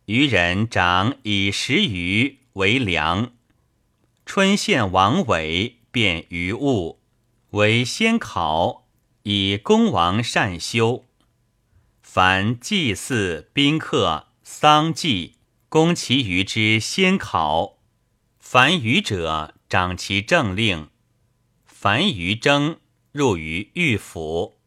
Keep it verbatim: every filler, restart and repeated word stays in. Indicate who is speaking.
Speaker 1: 渔人长以十余为粮。春献王尾，变于物，为先考，以公王善修。凡祭祀、宾客、丧祭，攻其余之先考。凡余者，掌其政令。凡余征，入于御府。